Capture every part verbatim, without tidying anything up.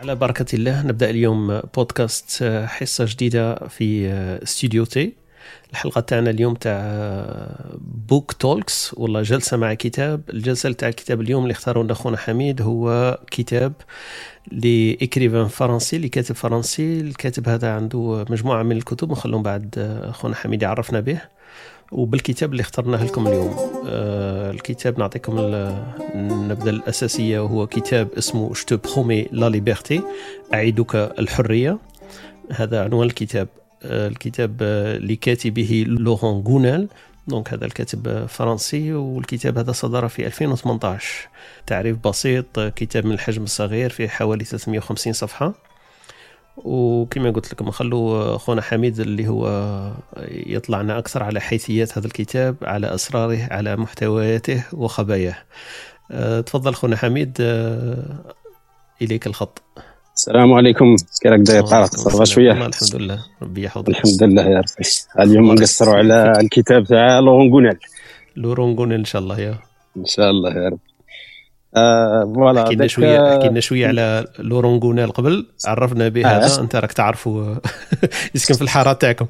على بركة الله نبدأ اليوم بودكاست حصة جديدة في استوديو تي. الحلقة تاعنا اليوم تاع بوك تولكس والله جلسة مع كتاب. الجلسة تاع الكتاب اليوم اللي اختاروا لنا خونا حميد هو كتاب لإكريفان فرنسي لكاتب فرنسي. الكاتب هذا عنده مجموعة من الكتب نخلون بعد خونا حميد يعرفنا به وبالكتاب اللي اخترناه لكم اليوم. آه الكتاب نعطيكم النبذة الأساسية وهو كتاب اسمه Je te promets la liberté أعيدك الحرية. هذا عنوان الكتاب. آه الكتاب آه لكاتبه لوران غونيل. دونك هذا الكاتب فرنسي والكتاب هذا صدر في ألفين وثمانية عشر. تعريف بسيط، كتاب من الحجم الصغير في حوالي ثلاثمائة وخمسين صفحة. وكما قلت لكم نخلو خونا حميد اللي هو يطلعنا أكثر على حيثيات هذا الكتاب، على أسراره، على محتوياته وخباياه. أه تفضل خونا حميد، أه إليك الخط. السلام عليكم، كيراك داير؟ طارق صافا شويه؟ الحمد لله ربي يحفظك. الحمد لله يا ربي. اليوم نقصروا على الكتاب تاع لوران غونيل. لوران غونيل إن شاء الله. يا إن شاء الله يا رب. آه فوالا حكينا شويه حكينا شويه على لوران غونيل قبل، عرفنا به هذا. آه. انت راك تعرفوا يسكن في الحاره تاعكم.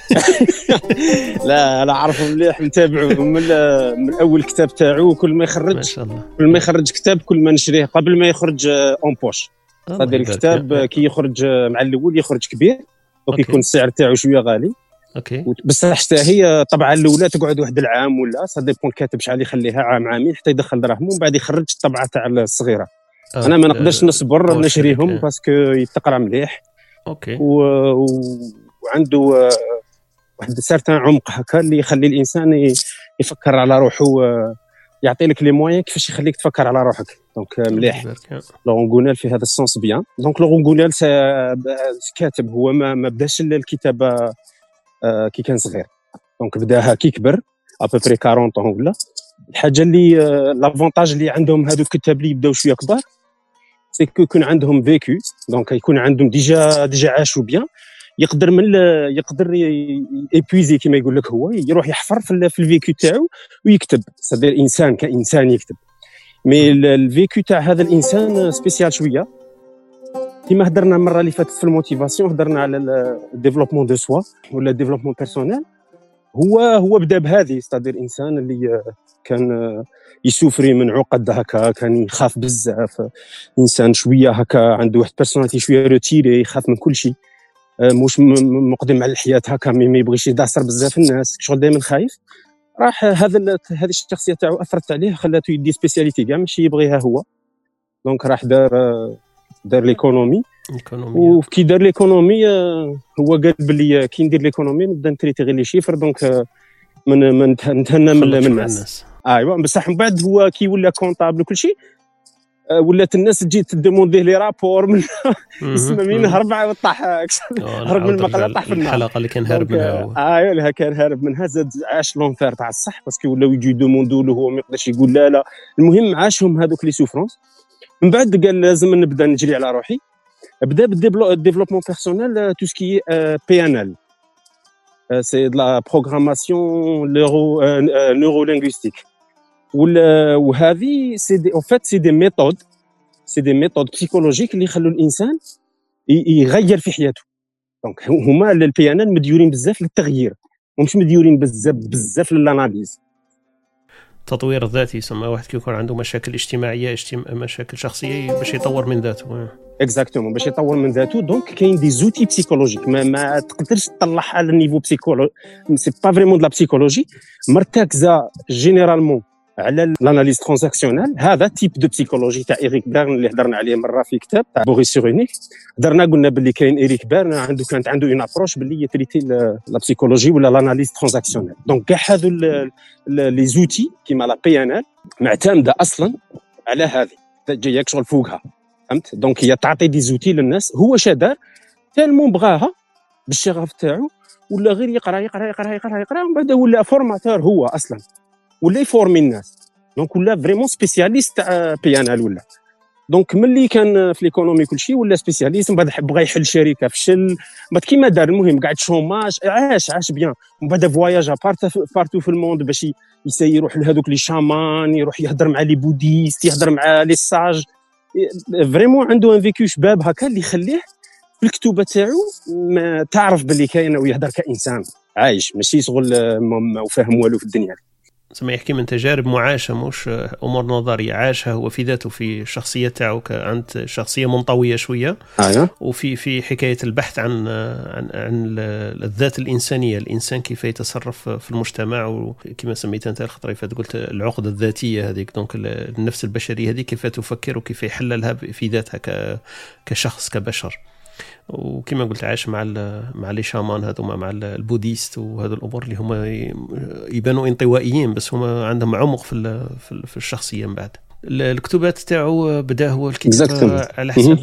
لا انا اعرفه مليح، نتابعه من من اول كتاب تاعو. كل ما يخرج ما شاء الله كل ما يخرج كتاب كل ما نشريه قبل ما يخرج اون بوش. هذا الكتاب كي يخرج مع الاول يخرج كبير وكيكون السعر تاعو شويه غالي. اوكي بصح حتى هي طبعا الاولى تقعد واحد العام ولا صا ديبون الكاتب شحال يخليها، عام عامين حتى يدخل دراهم ومن بعد يخرج الطبعه تاع الصغيره. آه. انا ما نقدرش نصبر نشريهم باسكو يتقرا مليح. اوكي و... وعنده واحد سارتان عمق هكا اللي يخلي الانسان يفكر على روحه، يعطي لك لي موين كيفاش يخليك تفكر على روحك. دونك مليح لوران غونيل في هذا السونس بيان. دونك لوران غونيل كاتب هو ما, ما بداش الكتابه آه كي كان صغير، دونك بداها كي كبر ابوبري أربعين طون ولا. الحاجه اللي آه لافونتاج اللي عندهم هادو الكتاب اللي يبداو شويه كبار سي كو يكون عندهم فيكو، دونك يكون عندهم ديجا ديجا عاشوا بيان. يقدر من يقدر ايبويزي كما يقول لك، هو يروح يحفر في, في الفيكو تاعو ويكتب. صدير انسان كانسان يكتب، مي الفيكو تاع هذا الانسان سبيسيال شويه. كما هضرنا المره اللي فاتت في الموتيفاسيون، هضرنا على الديفلوبمون دو سوا ولا الديفلوبمون بيرسونيل. هو هو بدا بهذه، صدير انسان اللي كان يسوفري من عقد هكا، كان يخاف بزاف، انسان شويه هكا عنده واحد بيرسوناليتي شويه روتيري، يخاف من كل شيء، مش مقدم على الحياه هكا، ما يبغيش يدعسر بزاف الناس، شغل دائما خايف. راح هذا هذه الشخصيه تاعو اثرت عليه، خلاته يدي سبيسياليتي كاع ماشي يبغيها هو. دونك راح دار دار ليكونومي. وكي دار ليكونومي هو قال بلي كي ندير ليكونومي نبدا نتريتي غير لي شيفر، دونك من من نتهنى من الناس. ايوا بصح من بعد هو كي ولا كونطابل وكل شيء، ولات الناس تجي تديموندي لي رابور من اسمه مين هرب وطاح، هرب من المقله طاح في الحلقه اللي كان هارب منها. ايوا اللي كان هارب منها، زاد عاش لونفير تاع الصح باسكو ولاو يجي يدوموندو له هو ما يقدرش يقول لا لا. المهم عاشهم هذوك لي سوفرونس. من بعد قال لازم نبدا نجري على روحي. بدا بالديفلوبمون بيرسونيل، تو سكي بي ان ال، سي دو لا بروغراماسيون نيرو نيرو لينغويستيك. وهذه سي دي او فات سي دي ميثود سي دي ميثود بسيكولوجيك اللي يخلوا الانسان يغير في حياته. دونك هما البي ان ال مديورين بزاف للتغيير، ومش مديورين بزاف بزاف للاناليز. التطوير الذاتي يسمى واحد كيكون عنده مشاكل اجتماعيه اجتماع مشاكل شخصيه باش يطور من ذاته. اكزاكتومون باش يطور من ذاته. دونك كاين دي زوتي بسيكولوجيك ما, ما تقدرش تطلعها على النيفو بسيكولوجي، سي با فريمون دو لا بسيكولوجي مرتكزه جينيرالمون على الاناليز ترانزاكسيونال. هذا تيب دو بسيكولوجي تاع إريك بيرن اللي هضرنا عليه مره في كتاب تاع بوريس سيغونيك. هضرنا قلنا باللي كاين إريك بيرن عنده كانت عنده اون ابروش باللي يتريتي لا بسيكولوجي ولا الاناليز ترانزاكسيونال. دونك كاع هذو لي زوتي كيما لا بي ان ال معتمده اصلا على هذه، جايك شغل فوقها، فهمت؟ دونك هي تعطي دي زوتي للناس. هو شادار تالمون بغاها بالشغف تاعو، ولا غير يقرا يقرا يقرا يقرا يقرا ومن بعد ولا فورماتور هو اصلا، ولا يفورمي الناس. دونك ولا فريمون سبيسياليست تاع بي ان ال ولا. دونك ملي كان في ليكونومي كل شيء ولا سبيسياليست، من بعد بغى يحل شركه فشل، بعد كيما دار المهم قاعد شوماج، عاش عاش بيان. ومن بعد فواياج بارتو في الموند باش يسير يروح لهذوك لي شامان، يروح يهضر مع لي بوديست، يهضر مع لي ساج. فريمون عنده ان فيكو شباب هكا اللي يخليه في الكتوبه تاعو تعرف باللي كاين ويهضر كانسان عايش ماشي شغل ما وفاهم والو في الدنيا. زعما يحكي من تجارب معاشه مش امور نظريه عاشها هو في ذاته في الشخصيه تاعو عند شخصيه منطويه شويه. ايوه. وفي في حكايه البحث عن عن عن الذات الانسانيه، الانسان كيف يتصرف في المجتمع، وكما سميتها انت الخطره فات قلت العقده الذاتيه هذيك، دونك النفس البشريه هذه كيف تفكر وكيف يحللها في ذاتها كشخص كبشر. وكما قلت عاش مع مع لي شامان هذوما مع البوديست وهذا الامور اللي هما يبانوا انطوائيين بس هما عندهم عمق في في الشخصيه. من بعد الكتبات تاعو بدا هو الكتاب على حسب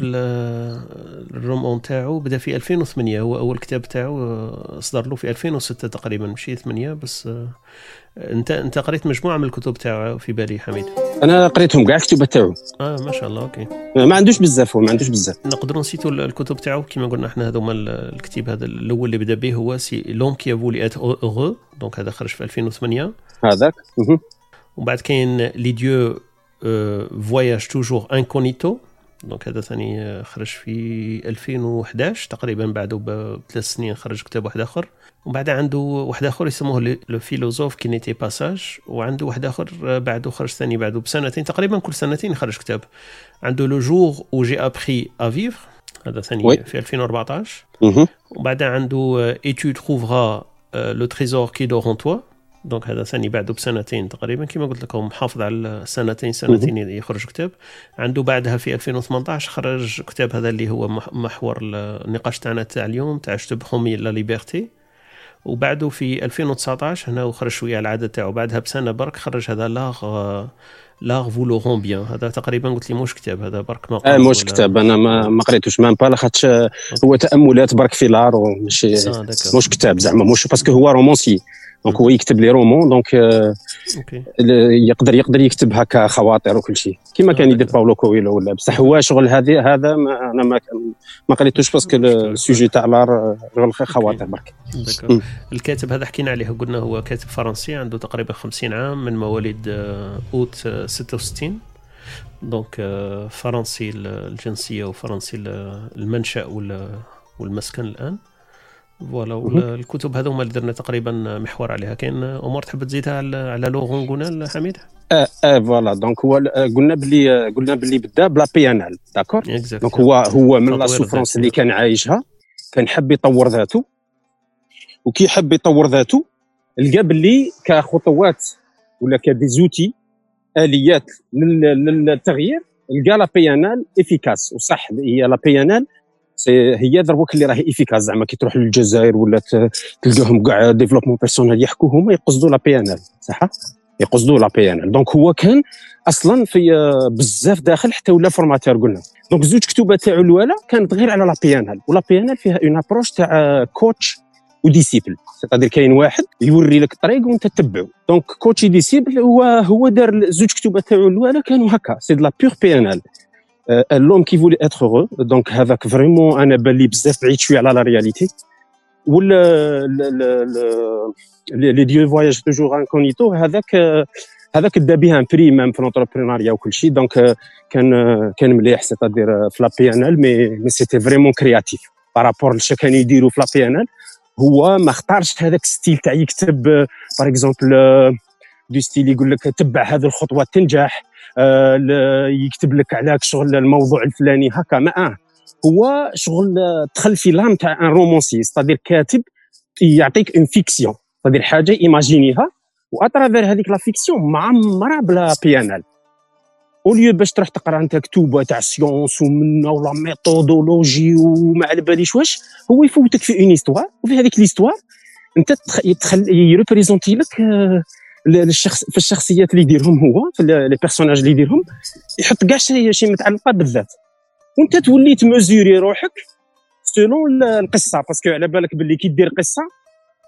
الرومان تاعو بدا في ألفين وثمانية، هو اول كتاب تاعو اصدر له في ألفين وستة تقريبا مشي ثمانية بس. انت انت قريت مجموعه من الكتب تاعو في بالي حميد؟ انا قريتهم كاع الكتب تاعو. اه ما شاء الله. اوكي ما عندوش بزاف هو ما عندوش بزاف. نقدروا نسيتوا الكتب تاعو كما قلنا احنا هذوما الكتاب هذا الاول اللي بدا به هو سي لون كي فولي ات اوغو، دونك هذا خرج في ألفين وثمانية هذاك. ومن بعد كاين لي ديو فواياج توجور انكونيتو، دونك هذا ثاني خرج في ألفين وأحد عشر تقريبا، بعده بثلاث سنين خرج كتاب واحد اخر. وبعد عنده واحد اخر يسموه لو فيلوزوف كي نيتي باساج، وعنده واحد اخر بعده خرج ثاني بعده بسنتين تقريبا، كل سنتين خرج كتاب. عنده لو جور او جي ابري ا فيفر هذا ثاني في ألفين وأربعطاش. وبعد عنده ايتود تروفرا لو تريزور كي دور اون توا، دونك هذا ثاني بعده بسنتين تقريبا كما قلت لكم، محافظ على سنتين سنتين يخرج كتاب. عنده بعدها في ألفين وثمانطاش خرج كتاب هذا اللي هو محور النقاش تاعنا تاع اليوم تاع شتب خومي لا ليبرتي. وبعده في ألفين وتسعطاش هنا وخرج شويه على العاده تاعو، بعدها بسنه برك خرج هذا لاغ لاغ فولورون بيان. هذا تقريبا قلت لي موش كتاب هذا برك اه موش كتاب انا ما ما قريتوش ما با لاخاطش هو تاملات برك في لار وماشي موش كتاب زعما موش باسكو هو رومانسي دونك هو يكتب لي رومون دونك يقدر يقدر يكتب هكا خواطر وكل شيء كيما كان يدير باولو كويلو ولا. بصح هو شغل هذه هذا ما انا ما ما قريتوش باسكو السوجي تاع لار شغل خواطر برك. الكاتب هذا حكينا عليه قلنا هو كاتب فرنسي عنده تقريبا خمسين عام، من مواليد اوت ستة وستين، دونك فرنسي الجنسيه وفرنسي المنشأ والمسكن الان. فوالا الكتب هذو هما اللي درنا تقريبا محور عليها. كاين امور تحب تزيدها على على لورون غونال حميد؟ اه اه فوالا دونك هو قلنا بلي قلنا بلي بدا بلا بيانال داكور. دونك هو هو من لا سوفرونس اللي كان عايشها كان حب يطور ذاته، وكي حب يطور ذاته لقى بلي كخطوات ولا كديزوتي اليات للتغيير لقى لا بيانال افيكاس. وصح هي لا بيانال هي دروك اللي راهي افيكاس زعما كي تروح للجزائر ولا تلقاهم كاع ديفلوبمون بيرسونيل يحكوا هما يقصدوا لا بي ان ال صح يقصدوا لا بي ان ال. دونك هو كان اصلا في بزاف داخل حتى ولا فورماتور قلنا. دونك زوج كتوبات تاعو الاولى كانت غير على لا بي ان ال، ولا بي ان ال فيها اون ابروش تاع كوتش وديسيبل، سيتادير كاين واحد يوري لك الطريق وانت تتبعه. دونك كوتش ديسيبل هو هو دار زوج كتوبات تاعو الاولى كانوا هكا سي دو لا بور بي ان ال لوم كي فولي اتر هورو. دونك هذاك فريمون انا بالي بزاف بعيد شويه على لا رياليتي. ولا لي ديو فواياج توجور انكونيتو هذاك هذاك دا بها ان بري ميم في لونتربرونيا وكل شيء. دونك كان كان مليح سيتادير في لا بي ان ال مي مي سيتي فريمون كرياتيف بارابور لشا كانوا يديروا في لا بي ان ال. هو ما اختارش هذاك ستيل تاع يكتب باغ اكزومبل دو ستيل يقول لك تبع هذه الخطوه تنجح، أه يكتب لك على شغل الموضوع الفلاني هكا. ما هو شغل دخل في لام تاع ان رومانسي ستادير كاتب يعطيك اون فيكسيون ستادير حاجه ايماجينيها واترافير هذيك لا فيكسيون معمره بلا بيانال. اوليو باش تروح تقرا انت كتوبه تاع سيونس ومنا ولا ميثودولوجي وما على باليش واش، هو يفوتك في اون هيستوار وفي هذيك ليستوار انت تدخل يريبريزونتي لك للشخص في الشخصيات اللي يديرهم هو في لي بيرسوناج اللي يديرهم، يحط كاع شي شي متعلقه بالذات وانت تولي تمزوري روحك سولون القصه. باسكو على بالك باللي كي دير قصه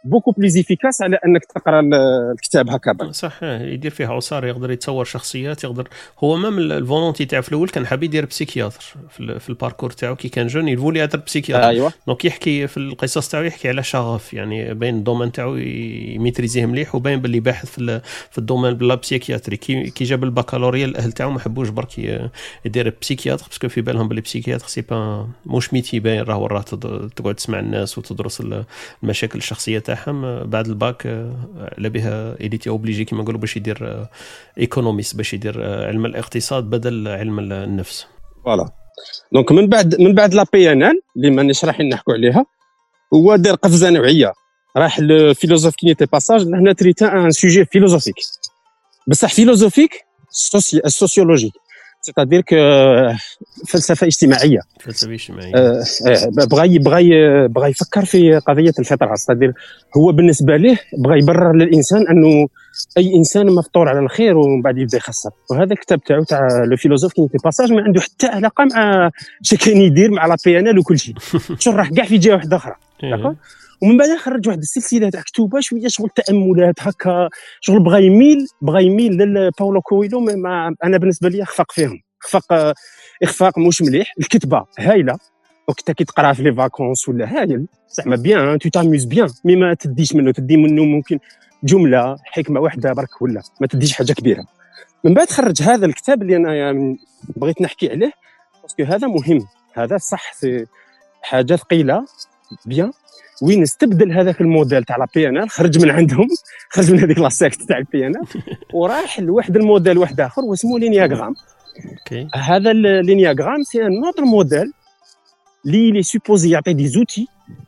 بوكو بليز افيكاس على انك تقرا الكتاب هكذا. صح، يدير فيها عصار، يقدر يتصور شخصيات، يقدر هو مام الفولونتي تاعو في الاول كان حاب يدير بسيكياتر في, في الباركور تاعو كي كان جون، يفولي يدير بسيكياتر. ايوه دونك يحكي في القصص تاعو، يحكي على شغف يعني بين الدومين تاعو يميتريزيه مليح، وبين باللي باحث في في الدومين بلا بسيكياتري. كي كي جاب البكالوريا الاهل تاعو ما حبوش برك يدير بسيكياتر باسكو في بالهم باللي بسيكياتر سي با موش ميتي باين، راهو راه تقعد تسمع الناس وتدرس المشاكل الشخصيه تاعهم. بعد الباك على بها إليتي أوبليجي كما نقولوا باش يدير ايكونوميست، باش يدير علم الاقتصاد بدل علم النفس. فوالا دونك من بعد من بعد لا بي ان ال اللي مانيش رايحين نحكوا عليها، هو دار قفزه نوعيه، راح الفيلوزوف كي نيتي باساج هنا تريتا ان سوجي فيلوزوفيك، بصح فيلوزوفيك سوسيولوجيك، سيتادير كو فلسفه اجتماعيه. فلسفه اجتماعيه آه بغى بغى بغى يفكر في قضيه الفطره، سيتادير هو بالنسبه ليه بغى يبرر للانسان انه اي انسان مفطور على الخير ومن بعد يبدا يخسر. وهذا الكتاب تاعو تاع لو فيلوزوف كي نيتي باساج ما عنده حتى علاقه مع اش كاين يدير مع لا بي ان ال وكل شيء، شو راح كاع في جهه واحده اخرى. داكور. ومن بعد خرج واحد السلسله تاع كتوبه شويه شغل تاملات هكا، شغل بغى يميل بغى يميل لباولو كويلو، ما انا بالنسبه لي اخفق فيهم، اخفاق اخفاق مش مليح. الكتبه هايله وقت كي تقرا في لي فاكونس ولا هايل زعما بيان، تو تاميز بيان، مي ما تديش منه، تدي منه ممكن جمله حكمه واحده برك ولا ما تديش حاجه كبيره. من بعد خرج هذا الكتاب اللي انا يعني بغيت نحكي عليه باسكو هذا مهم، هذا صح حاجه ثقيله بيان، وين استبدل هذاك الموديل تاع لا بي ان ال، خرج من عندهم، خرج من هذيك لا سيكت تاع البي ان ال وراح لواحد الموديل واحد اخر واسمه لينياغرام. اوكي هذا اللينياغرام سي ان اوتر موديل لي لي سوبوزي يعطي دي زوتي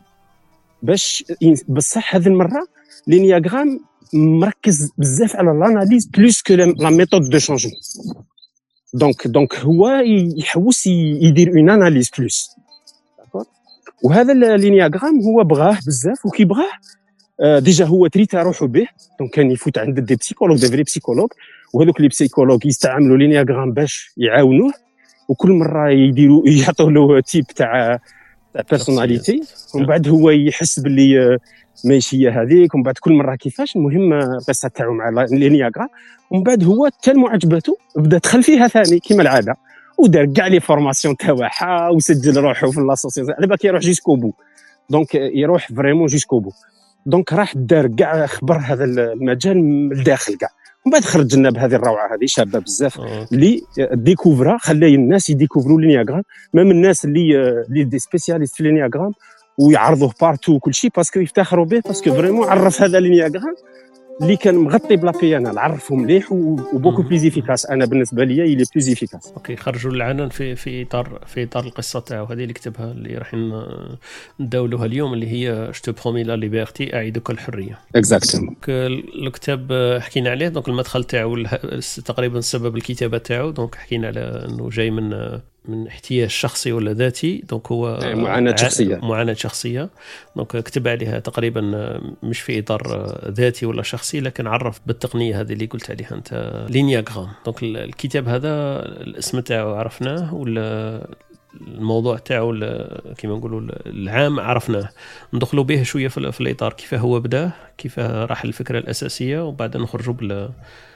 باش بصح هذه المره لينياغرام مركز بزاف على الاناليز بلوس كو لا ميثود دو شانجمون. دونك دونك هو يحوس يدير اون اناليز بلوس. داكور. وهذا اللينياغرام هو بغاه بزاف، وكي بغاه آه ديجا هو تريتا روحو به، دونك كان يفوت عند دي بسيكولوج دي فري بسيكولوج، وهذوك لي بسيكولوج يستعملوا لينياغرام باش يعاونوه، وكل مره يديروا يعطوا له تيب تاع تاع بيرسوناليتي، ومن بعد هو يحس باللي ماشي هي هذيك، ومن بعد كل مره كيفاش. المهم القصه تاعو مع لينياغرام، ومن بعد هو تالمو عجبته بدا دخل فيها ثاني كيما العاده، ودار كاع لي فورماسيون تاعها وسجل روحه في لاسوسياسيون على بالك يروح جيسكو بو، دونك يروح فريمون جيسكو بو. دونك راح دار كاع خبر هذا المجال من الداخل كاع، ومن بعد خرج لنا بهذه الروعه هذه شابه بزاف اللي ديكوفرا، خلى الناس يديكوفروا لينياغرام، ميم الناس اللي اللي دي سبيسياليست في لينياغرام ويعرضوه بارتو وكل شيء باسكو يفتخروا به، باسكو فريمون عرف هذا لينياغرام اللي كان مغطي بلا بي ان ال، عرفهم مليح وبوكو بليز افيكاس. انا بالنسبه لي يلي بليز افيكاس. اوكي، خرجوا العنان في في اطار في اطار القصه تاعو هذه اللي كتبها، اللي راح نداولوها اليوم، اللي هي جو برومي لا ليبرتي، اعيدك الحريه. اكزاكتومون. الكتاب حكينا عليه، دونك المدخل تاعو تقريبا سبب الكتابه تاعو، دونك حكينا على انه جاي من من احتياج شخصي ولا ذاتي، دونك هو معاناة شخصية معاناة شخصية دونك كتب عليها تقريبا مش في إطار ذاتي ولا شخصي، لكن عرف بالتقنية هذه اللي قلت عليها أنت لينياغرام. دونك الكتاب هذا الاسم تاعو عرفناه، ولا الموضوع تاعو كما نقولوا العام عرفناه، ندخلوا به شوية في الإطار كيف هو بدأ، كيف راح الفكرة الأساسية، وبعدين نخرجوا بال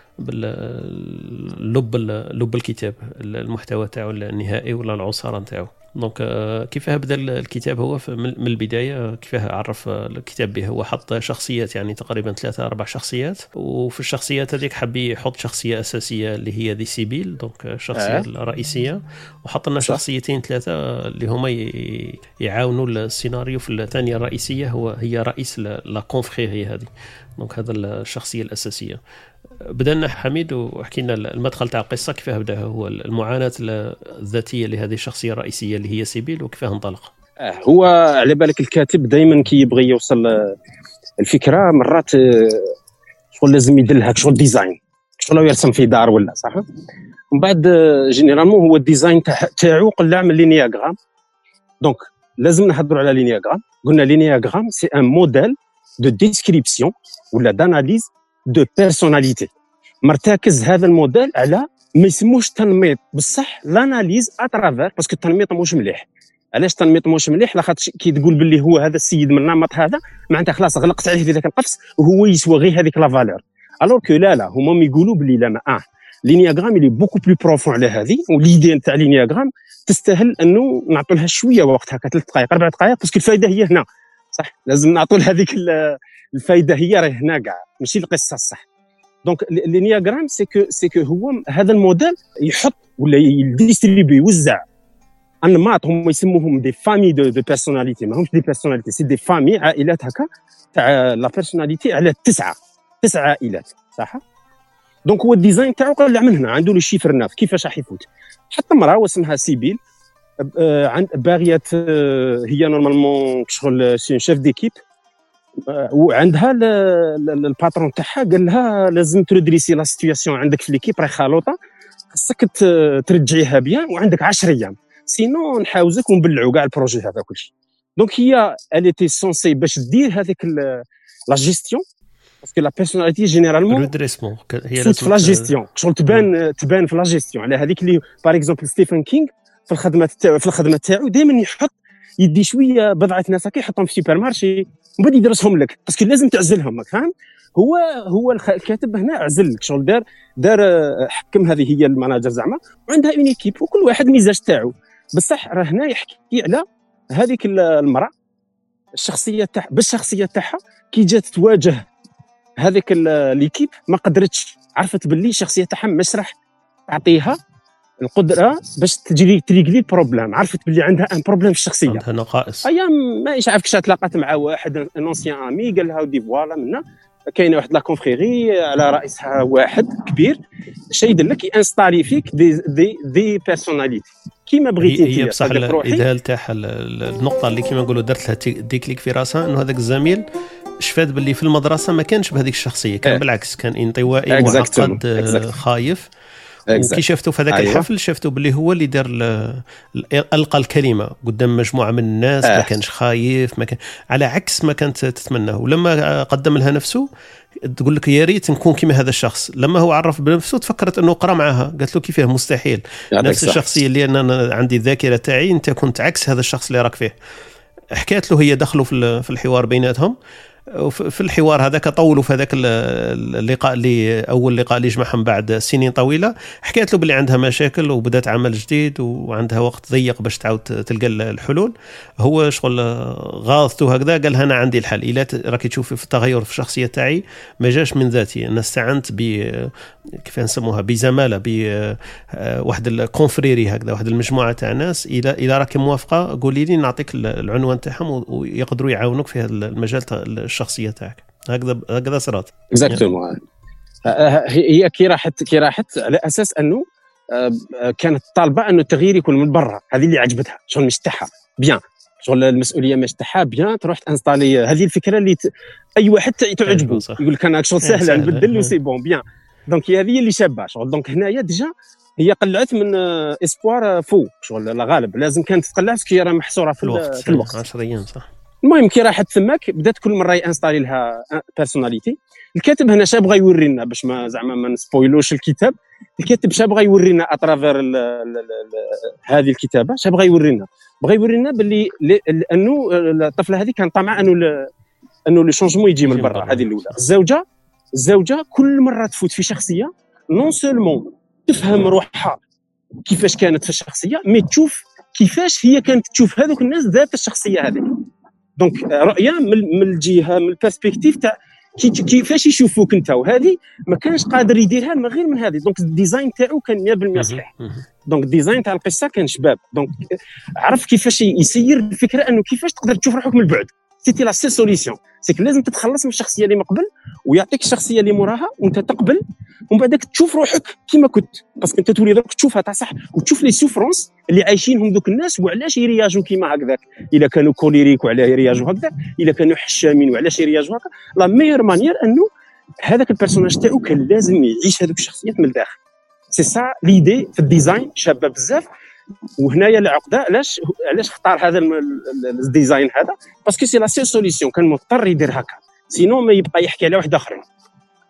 باللب لب الكتاب، المحتوى تاعو النهائي ولا العصارة تاعو. دونك كيف بدا الكتاب هو من البدايه، كيف عرف الكتاب به، هو حط شخصيات يعني تقريبا ثلاثه اربع شخصيات، وفي الشخصيات هذيك حب يحط شخصيه اساسيه اللي هي دي سيبيل، دونك الشخصيه آه. الرئيسيه، وحط لنا شخصيتين ثلاثه اللي هما يعاونوا السيناريو في الثانيه الرئيسيه، هو هي رئيس لا كونفريري هذه. دونك هذا الشخصيه الاساسيه. بدأنا حميد وحكينا المدخل تاع القصة، كيف بدأ هو المعاناة الذاتية لهذه الشخصية الرئيسية اللي هي سيبيل، وكيف انطلق. هو على بالك الكاتب دائما كي يبغي يوصل الفكرة مرات شغل لازم يدلها شغل ديزاين، شغل يرسم في دار ولا صح. ومن بعد جينيرالمون هو الديزاين تاعو قلع من لينياغرام، دونك لازم نهضروا على لينياغرام. قلنا لينياغرام سي ان موديل دو ديسكريبسيون ولا داناليز دو بيرسوناليتي، مرتكز هذا الموديل على ما يسموش تنميط بصح لاناليز اترافير، باسكو التنميط مش مليح، علاش تنميط موش مليح؟ لاخاطش كي تقول باللي هو هذا السيد من النمط هذا معناتها خلاص غلقت عليه في ذاك القفص وهو يسوى غير هذيك لا فالور. الوغ كو لا لا هما يقولوا باللي لا ما اه لينياغرام اللي بوكو بلو بروفون على هذه، وليدي تاع لينياغرام تستاهل انه نعطوا لها شويه وقت هكا ثلاث دقائق اربع دقائق، باسكو الفائده هي هنا صح، لازم نعطوا لها هذيك الفائده هي راه هنا كاع ماشي القصه الصح. دونك لينياغرام سي كو سي كو هو هذا الموديل يحط ولا يديستريبي يوزع انماط هم يسموهم دي فامي دو دو بيرسوناليتي، ماهمش دي بيرسوناليتي سي دي فامي عائلات هكا تاع لا بيرسوناليتي على تسعه تسعه عائلات صح. دونك هو الديزاين تاعو قال من هنا عنده لو شيفر ناف كيفاش راح يفوت. حط امراه واسمها سيبيل عند باغيه هي نورمالمون شغل سي شيف ديكيب، وعندها الباترون تاعها قال لها لازم تدريسي لا سيتوياسيون عندك في ليكيب راهي خالوطه، خاصك ترجعيها بيان وعندك عشرة ايام سينو نحاوزك ونبلعوا كاع البروجي هذا كلشي. دونك هي اليتي سونسي باش دير هذيك لا جيستيون باسكو لا بيرسوناليتي جينيرالمون ريدريسمون هي لازم في لا جيستيون شغل تبان تبان في لا جيستيون. على هذيك اللي باغ اكزومبل ستيفن كينغ في الخدمه تاعو في الخدمه تاعو دائما يحط يدي شويه بضعه ناس هكا يحطهم في سوبر مارشي ومن بعد يدرسهم لك باسكو لازم تعزلهم فاهم. هو هو الكاتب هنا عزل لك شغل دار دار حكم هذه هي الماناجر زعما وعندها اون ايكيب وكل واحد ميزاج تاعو. بصح راه هنا يحكي على هذيك المراه الشخصيه تاعها بالشخصيه تاعها كي جات تواجه هذيك ليكيب ما قدرتش، عرفت باللي الشخصيه تاعها مش راح تعطيها القدره باش تجري تريغلي البروبليم، عرفت باللي عندها ان بروبليم في الشخصيه عندها نقائص. ايام ما ايش عارف كش تلاقات مع واحد انونسيان امي قال لها ودي فوالا منا كاينه واحد لا كونفريري على رئيسها واحد كبير شي يدير لك ينستالي فيك دي دي دي بيرسوناليتي كيما بغيتي انت. هي بصح الاذهال تاعها النقطه اللي كيما نقولوا درت لها ديكليك في راسها انه هذاك الزميل شفات باللي في المدرسه ما كانش بهذيك الشخصيه، كان اه. بالعكس كان انطوائي معقد اه. خايف. وكي شفتوا في هذاك أيوة. الحفل شفتوا باللي هو اللي دار القى الكلمه قدام مجموعه من الناس اه. ما كانش خايف ما كان على عكس ما كانت تتمناه. ولما قدم لها نفسه تقول لك يا ريت نكون كيما هذا الشخص. لما هو عرف بنفسه تفكرت انه قرا معها قالت له كيفاه مستحيل نفس صح. الشخصيه اللي انا عندي الذاكره تاعي انت كنت عكس هذا الشخص اللي راك فيه. حكيت له هي دخلوا في الحوار بيناتهم وفي الحوار هذاك طولوا في هذاك اللقاء اللي اول لقاء اللي جمعهم بعد سنين طويله. حكيت له باللي عندها مشاكل وبدات عمل جديد وعندها وقت ضيق باش تعاود تلقى الحلول. هو شغل غاضته هكذا قال انا عندي الحل الا راكي تشوفي في التغير في الشخصيه تاعي ما جاش من ذاتي، انا استعنت ب كيف نسموها بزماله بواحد الكونفريري هكذا واحد المجموعه تاع ناس الى الى راكي موافقه قولي لي نعطيك العنوان تاعهم ويقدروا يعاونوك في هذا المجال الشخصيه تاعك. هكذا هكذا صارت اكزاكتومون. هي كي راحت كي راحت على اساس انه كانت طالبه انه التغيير يكون من برا، هذه اللي عجبتها شغل مش تاعها بيان شغل المسؤوليه مش تاعها بيان تروح تانستالي. هذه الفكره اللي ت... اي واحد تعجبه يقول لك انا شغل سهله نبدل وسي بون بيان. دونك هي هذه اللي شابه شغل. دونك هنايا ديجا هي قلعت من اسبوار فو شغل لا غالب لازم كانت تقلع كي راه محصوره في الوقت في الوقت عشرة ايام صح. المهم كي راحت ثماك بدات كل مره ينستالي لها بيرسوناليتي. الكاتب هنا شاب بغى يوري لنا باش ما زعما ما نسبويلوش الكتاب. الكاتب شاب بغى يوري لنا اترافير هذه الكتابه شاب بغى يوري لنا بغى يوري لنا باللي انه الطفله هذه كان طمع انه انه لو شونجمون يجي من برا. هذه الاولى. الزوجه الزوجه كل مره تفوت في شخصيه نون سولمون تفهم روحها كيفاش كانت في الشخصيه مي تشوف كيفاش هي كانت تشوف هذوك الناس ذات الشخصيه هذيك. دونك رؤيه من الجهه من البيرسبكتيف تاع كيفاش يشوفوك انت، وهذه ما كانش قادر يديرها من غير من هذه. دونك الديزاين تاعو كان مية بالمية صحيح. دونك الديزاين تاع القصه كان شباب. دونك عرف كيفاش يسير الفكره انه كيفاش تقدر تشوف روحك من البعد. سيتي لا سي سوليسيون سيك لازم تتخلص من الشخصيه اللي مقبل ويعطيك الشخصيه اللي موراها وانت تقبل ومن بعدك تشوف روحك كيما كنت باسكو انت تولي درك تشوفها تاع صح وتشوف لي سوفرونس اللي عايشينهم دوك الناس وعلاش يرياجوا كيما هكذاك. الا كانوا كوليريك وعلاه يرياجوا هكذا، الا كانوا حشامين وعلاش يرياجوا هكا. لا ميور مانيير انه هذاك البيرسوناج تاعو كان لازم يعيش هذوك الشخصيات من الداخل. سي سا ليدي في الديزاين شابه بزاف. وهنايا العقده علاش علاش اختار هذا الديزاين هذا باسكو سي لا سي سوليسيون كان مضطر يدير هكا سينو ما يبقى يحكي على واحد اخرين.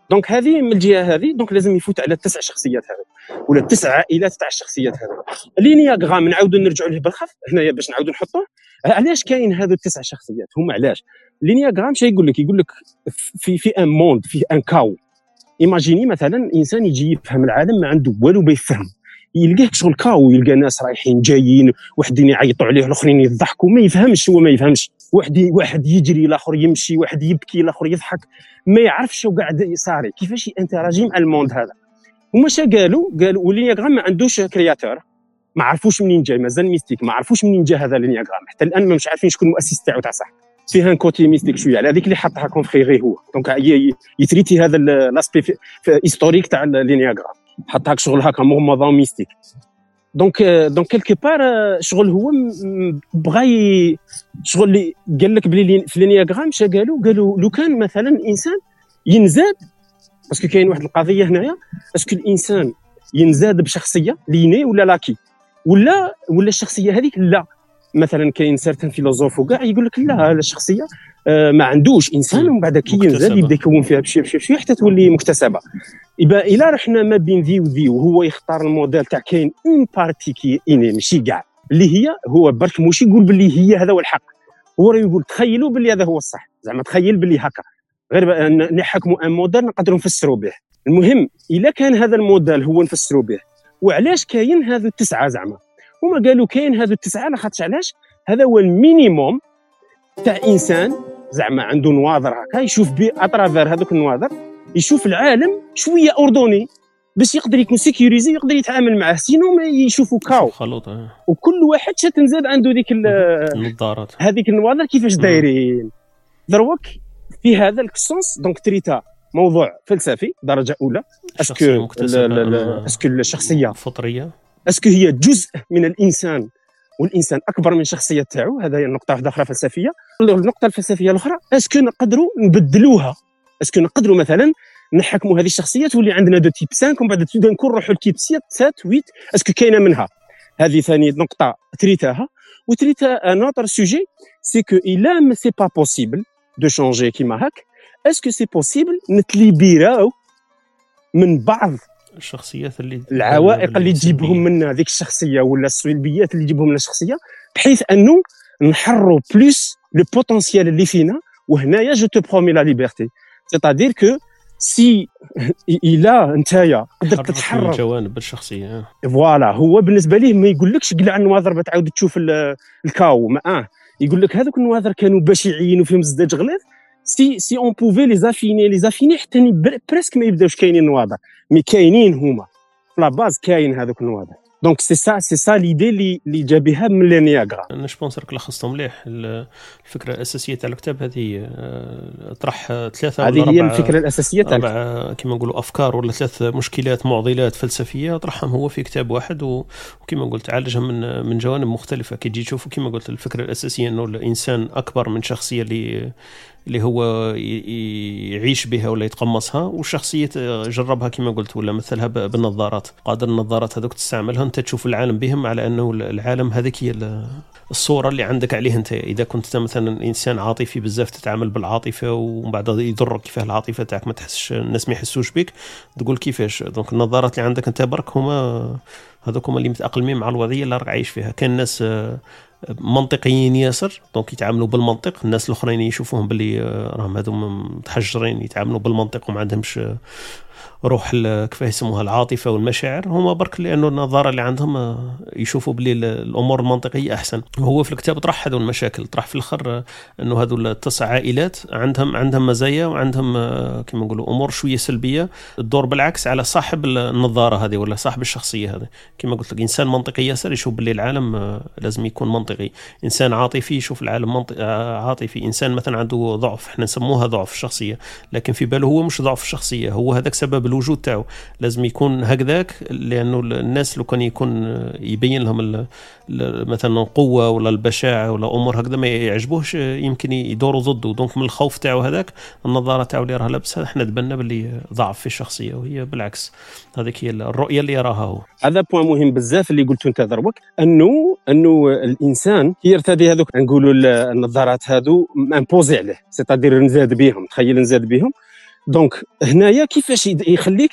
دونك هذه من الجهه هذه دونك لازم يفوت على التسع شخصيات هذو ولا التسع عائلات تاع الشخصيات هذو. اللينياغرام نعاودوا نرجعوا ليه بالخف هنايا باش نعاودوا نحطوه. علاش كاين هذو التسع شخصيات؟ هما علاش اللينياغرام شنو يقول لك؟ يقول لك في في ان موند في ان كاو. ايماجيني مثلا انسان يجي يفهم العالم ما عنده والو بيفهم، يلقاه شغل كاو، يلقى ناس رايحين جايين، وحدين يعيطوا عليه، الاخرين يضحكوا، ما يفهمش، هو ما يفهمش، واحد واحد يجري، الاخر يمشي، واحد يبكي، الاخر يضحك، ما يعرفش شو قاعد صاري، كيفاش ينتراجي مع الموند هذا. هما شا قالوا قالوا واللينياغرام ما عندوش كرياتور، ما عرفوش منين جاي، مازال ميستيك، ما عرفوش منين جا هذا اللينياغرام، حتى الان ما مش عارفين شكون المؤسس تاعو تاع صح. فيها ان كوتي ميستيك شويه على هذيك اللي حطها كونفري هو، دونك يتريتي هذا لاسبي هيستوريك تاع اللينياغرام، حطها شغل هكا مغمضه ميستيك. دونك دونك كيلكو بار شغل هو بغى شغل اللي قال لك بلي في اللينياغرام شا قالوا قالوا لو كان مثلا انسان ينزاد، باسكو كاين واحد القضيه هنايا، اسكو الانسان ينزاد بشخصيه ليني ولا لاكي، ولا ولا الشخصيه هذيك لا. مثلا كاين سيرتان فيلوزوف وكاع يقول لك لا، هذا الشخصيه آه ما عندوش انسان، ومن بعد كي ينزل يبدا يكون فيها بشي بشي بشي حتى تولي مكتسبه. يبقى الا رحنا ما بين ذي وذي وهو يختار الموديل تاع كاين اون بارتي كي اني ماشي كاع اللي هي هو برك موش يقول باللي هي هذا هو الحق، هو يقول تخيلوا باللي هذا هو الصح، زعما تخيل باللي هكا، غير نحكموا ان موديل نقدروا نفسروا به. المهم الا كان هذا الموديل هو نفسروا به، وعلاش كاين هذو التسعه زعما؟ هما قالوا كاين هذو التسعه لاخاطش علاش هذا هو المينيموم تاع انسان زعما عنده نواظر هكا يشوف بي اترافير هذوك النواظر، يشوف العالم شويه اوردوني باش يقدر يكون سيكوريزي ويقدر يتعامل معاه، سينو ما يشوفوا كاو خلوط. وكل واحد شا تنزاد عنده ديك النظارات هذيك النواظر كيفاش دايرين. دروك في هذا الكسونس دونك تريتا موضوع فلسفي درجه اولى، اسكو اسكو الشخصيه فطريه، اسكو هي جزء من الانسان والانسان اكبر من الشخصيه تاعو، هذا هي النقطه واحده اخرى فلسفيه. النقطه الفلسفيه الاخرى اسكو نقدروا نبدلوها، اسكو نقدروا مثلا نحكموا هذه الشخصيات واللي عندنا دو تيب خمسة ومن بعد تبدا نكون نروحوا لتيب ستة سبعة ثمانية، اسكو كاينه منها. هذه ثاني نقطه تريتاها. وتريتا ان اوتر سوجي سي كو الا ما سي با بوسيبل دو شونجي كيما هاك، اسكو سي بوسيبل نتليبيراو من بعض الشخصيات اللي العوائق اللي تجيبهم منا ذيك الشخصيه ولا السلبيات اللي تجيبهم لنا الشخصيه، بحيث انه نحروا بلوس لو بوتونسيال اللي فينا. وهنايا جو تو برومي لا ليبرتي، سيتادير كو سي الا نتايا قدرت تتحرر جوانب الشخصيه، فوالا هو بالنسبه ليه ما يقولكش قلع النواظر بتعاود تشوف الكاو معاه، يقول لك هذوك النواظر كانوا بشعين وفيهم زداج غليظ، سي سي اون بوفي لي زافيني لي زافيني حتى بريسك ما يبداوش كاينين النواظر، مي كاينين هما في لا باز، كاين هذوك النواظر. دونك سي سا سي سا ليدي اللي اللي جا بها من اللينياغرام. انا جوبونس راك لخصتو مليح. الفكره الاساسيه تاع الكتاب هذه طرح ثلاثه ولا هذه هي الفكره الاساسيه تاع الكتاب، كما نقولوا افكار ولا ثلاث مشكلات معضلات فلسفيه طرحهم هو في كتاب واحد، وكما قلت عالجها من من جوانب مختلفه. كي تجي تشوفوا كما قلت الفكره الاساسيه انه الانسان اكبر من شخصيه اللي اللي هو يعيش بها ولا يتقمصها، والشخصيه جربها كما قلت ولا مثلها بالنظارات، قادر النظارات هذوك تستعملها انت تشوف العالم بهم، على انه العالم هذيك هي الصوره اللي عندك عليه انت. اذا كنت مثلا انسان عاطفي بزاف تتعامل بالعاطفه ومن بعد يضرك كيفاه العاطفه تاعك ما تحسش الناس ما يحسوش بك، تقول كيفاش. دونك النظارات اللي عندك انت برك هما هذوك هما اللي متاقلمين مع الوضعيه اللي راك عايش فيها. كان الناس منطقيين ياسر دونك يتعاملوا بالمنطق، الناس الاخرين يشوفوهم باللي راهم هذوما متحجرين يتعاملوا بالمنطق وما عندهمش روح كيف يسموها العاطفه والمشاعر، هما برك لانه النظاره اللي عندهم يشوفوا بلي الامور المنطقيه احسن. وهو في الكتاب طرح هذو المشاكل، طرح في الاخر انه هذو التسع عائلات عندهم عندهم مزايا وعندهم كما نقولوا امور شويه سلبيه تدور بالعكس على صاحب النظاره هذه ولا صاحب الشخصيه هذه. كما قلت لك انسان منطقي ياسر يشوف بلي العالم لازم يكون منطقي، انسان عاطفي يشوف العالم منطقي عاطفي، انسان مثلا عنده ضعف احنا نسموها ضعف الشخصيه، لكن في باله هو مش ضعف الشخصيه، هو هذاك سبب الوجود تاعو لازم يكون هكذاك، لانه الناس لو كان يكون يبين لهم مثلا القوه ولا البشاعه ولا امور هكذا ما يعجبوهش يمكن يدوروا ضده. دونك من الخوف تاعو هذاك النظاره تاعو اللي راه لابسها احنا تبنى باللي ضعف في الشخصيه، وهي بالعكس هذيك هي الرؤيه اللي يراها هو. هذا بوين مهم بزاف اللي قلته انت ضربك، انه انه الانسان يرتدي هذوك نقولوا النظارات هذو امبوزي عليه، سيتادير نزاد بهم، تخيل نزاد بهم دونك هنايا كيفاش يخليك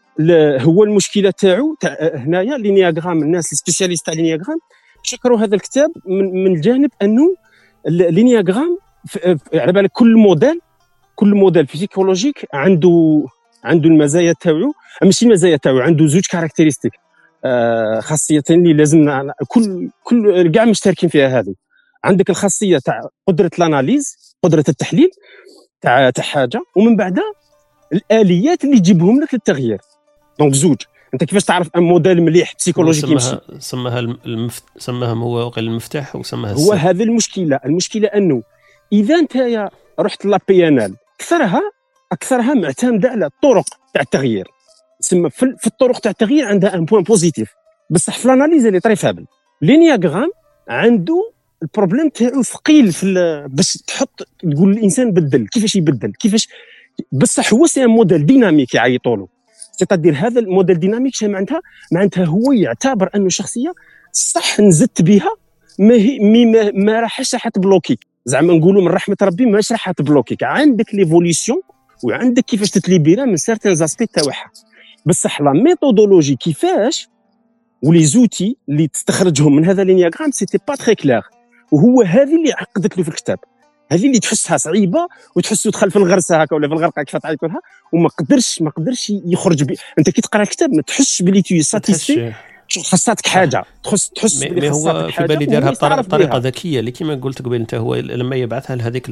هو المشكله تاعو تاع هنايا لينياغرام. الناس السبيسياليست تاع لينياغرام شكروا هذا الكتاب من, من الجانب انه لينياغرام على بالك كل موديل كل موديل فيزيكولوجيك عنده عنده المزايا تاعو، ماشي المزايا تاعو، عنده زوج كاركتيرستيك آه خاصيتين اللي لازم كل كل كاع مشتركين فيها. هذه عندك الخاصيه تاع قدره الاناليز، قدره التحليل تاع تاع حاجه، ومن بعدها الاليات اللي تجيبهم لك للتغيير. دونك زوج، انت كيفاش تعرف ان موديل مليح بسيكولوجيك يمشي؟ سماها المفت... سماها هو وقال المفتاح وسماها هو هذا المشكله. المشكله انه اذا انت يا رحت لا بي ان ال اكثرها اكثرها معتمده على الطرق تاع التغيير. تسمى في الطرق تاع التغيير عندها ان بوين بوزيتيف، بصح في الاناليز اللي طري فابل. لينياغرام عنده البروبليم تاعو ثقيل في باش تحط تقول الانسان بدل كيفاش يبدل كيفاش، بصح هو سي موديل ديناميك يعيطوا له. سيتادير هذا الموديل ديناميك شنو معناتها؟ معناتها هو يعتبر انه شخصيه صح نزدت بها ما هي ما, ما راحش راح تبلوكيك، زعما نقولوا من رحمه ربي ماش راح تبلوكيك. عندك ليفوليسيون وعندك كيفاش تتليبيرا من سيرتان زاسبي تاعها، بصح لا ميثودولوجي كيفاش ولي زوتي اللي تستخرجهم من هذا لينياغرام سيتي با تري كلير. وهو هذه اللي عقدت له في الكتاب، هذه اللي تحسها صعيبه وتحسه دخل في الغرسه هكا ولا في الغرقه كيف تعيط لها وما قدرش ما قدرش يخرج بي. انت كي تقرا الكتاب ما تحسش بلي تو ساتيسفي، خاصاتك حاجه تحس تحس بلي خاصاتك حاجه. هو في بالي دارها بطريقه ذكيه اللي كيما قلت قبل انت. هو لما يبعثها لهذيك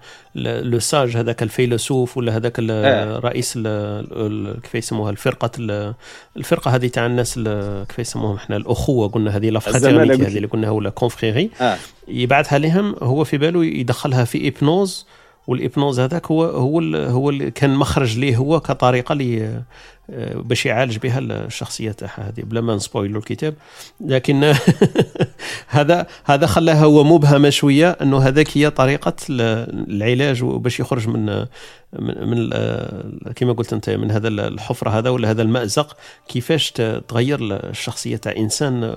لو ساج هذاك الفيلسوف ولا هذاك الرئيس كيف يسموها الفرقه الفرقه هذه تاع الناس كيف يسموهم احنا الاخوه، قلنا هذه لافراتيرنيتي هذه اللي قلنا ولا كونفريري. آه. يبعثها لهم هو في باله يدخلها في ايبنوز، والإبنوز هذاك هو هو هو اللي كان مخرج ليه هو كطريقه لي باش يعالج بها الشخصيه تاعها هذه بلا ما نسبويلو الكتاب. لكن هذا هذا خلاها هو مبهمه شويه انه هذاك هي طريقه العلاج باش يخرج من من, من كما قلت انت من هذا الحفره هذا ولا هذا المأزق. كيفاش تغير الشخصيه تاع انسان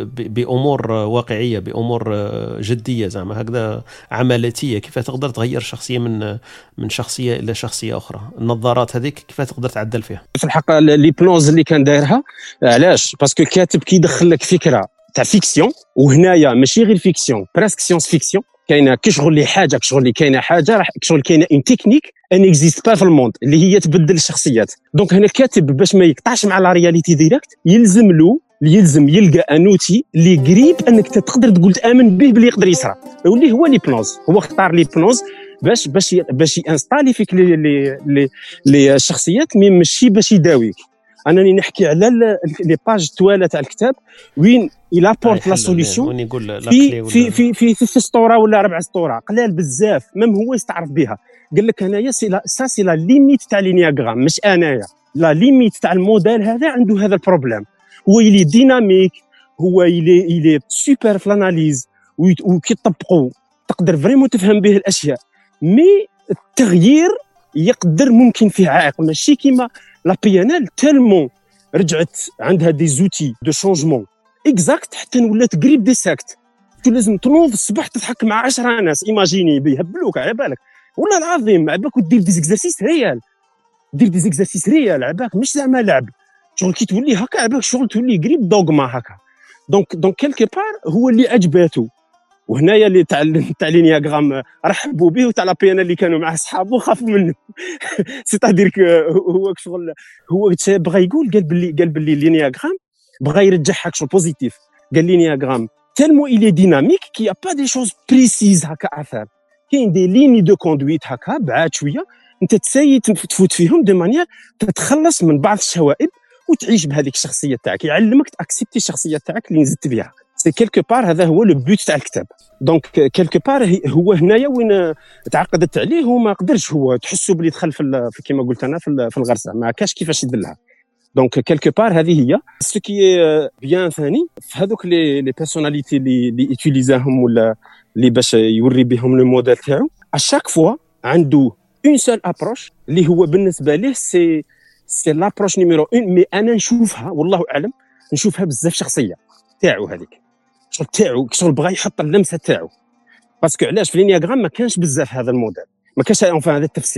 بامور واقعيه بامور جديه زعما هكذا عملاتيه. كيف تقدر تغير شخصيه من من شخصيه الى شخصيه اخرى؟ النظارات هذيك كيف تقدر تعدل فيها؟ في الحقيقه ليبنوز اللي كان دايرها علاش؟ باسكو الكاتب كيدخل لك فكره تاع فيكسيون، وهنايا ماشي غير فيكسيون بريسك سيونس فيكسيون. كاينه كشغل لي حاجه كشغل لي كاينه حاجه راح كشغل كاينه اون تكنيك ان اكزيست با في الموند اللي هي تبدل الشخصيات. دونك هنا الكاتب باش ما يقطعش مع لا رياليتي ديريكت يلزم له يلزم يلقى انوتي اللي قريب انك تقدر تقول تامن به بلي يقدر يصرى، واللي هو ليبنوز. هو اختار ليبنوز باش باش باش ينستالي فيك لي لي لي الشخصيات مي ماشي باش يداويك. انني نحكي على لي باج طواله تاع الكتاب وين الى بورت لا سوليسيون في في في في في سطوره ولا ربع سطوره قلال بزاف ميم هو يستعرف بها. قال لك هنايا سي لا سا سي لا ليميت تاع لينياغرام، مش انايا لا ليميت تاع الموديل هذا عنده هذا البروبليم. هو يلي ديناميك، هو يلي يلي سوبر في الاناليز وكي تطبقوا تقدر فريمون تفهم به الاشياء، مي التغيير يقدر ممكن فيه عائق. ماشي كيما لا بي ان ال تالمون رجعت عندها دي زوتي دو شونجمون اكزاكت حتى ولات قريب دي ساكت. لازم تنوض الصباح تضحك مع عشرة ناس ايماجيني بيهبلوك على بالك والله العظيم عباك ودير دي زيكزارسيس ريال، دير دي زيكزارسيس ريال عباك مش زعما لعب. شغل كي تولي هكا عباك شغل تولي قريب دوغما هكا. دونك دونك كيلكو بار هو اللي عجباته. وهنايا اللي تاع تاع لينياغرام رحبوا به وتاع لا بي ان اللي كانوا مع اصحابه خافوا منه. سيتادير هو شغل هو بغى يقول قال باللي قال باللي لينياغرام بغى يرجعها شغل بوزيتيف. قال لينياغرام تالمو إلي ديناميك كي يا با دي شوز بريسيز هكا اثار، كاين دي ليني دو كوندويت هكا بعاد شويه انت تساي تفوت فيهم دو مانيير تتخلص من بعض الشوائب وتعيش بهذيك الشخصيه تاعك. يعلمك تاكسبتي الشخصيه تاعك اللي نزدت بها. سي كيلكو بار هذا هو لو بوت تاع الكتاب. دونك كيلكو بار هو هنايا وين تعقدت عليه وما قدرش هو تحسوا بلي دخل في كيما قلت انا في الغرسه ما كاش كيفاش يدلها. دونك كيلكو بار هذه هي سو كي بيان. ثاني في هذوك لي لي بيرسوناليتي اللي اللي يوتيليزاهم ولا اللي باش يوري بهم لو موديل تاعو اشاك فوا عنده اون سول ابروش اللي هو بالنسبه ليه سي سي لابروش نيميرو واحد. مي انا نشوفها والله اعلم نشوفها بزاف شخصيه تاعو هذيك شغل تاعو شغل بغى يحط اللمسه تاعو. باسكو علاش في لينياغرام ما كانش بزاف هذا الموديل ما كانش انفان هذا التفسير.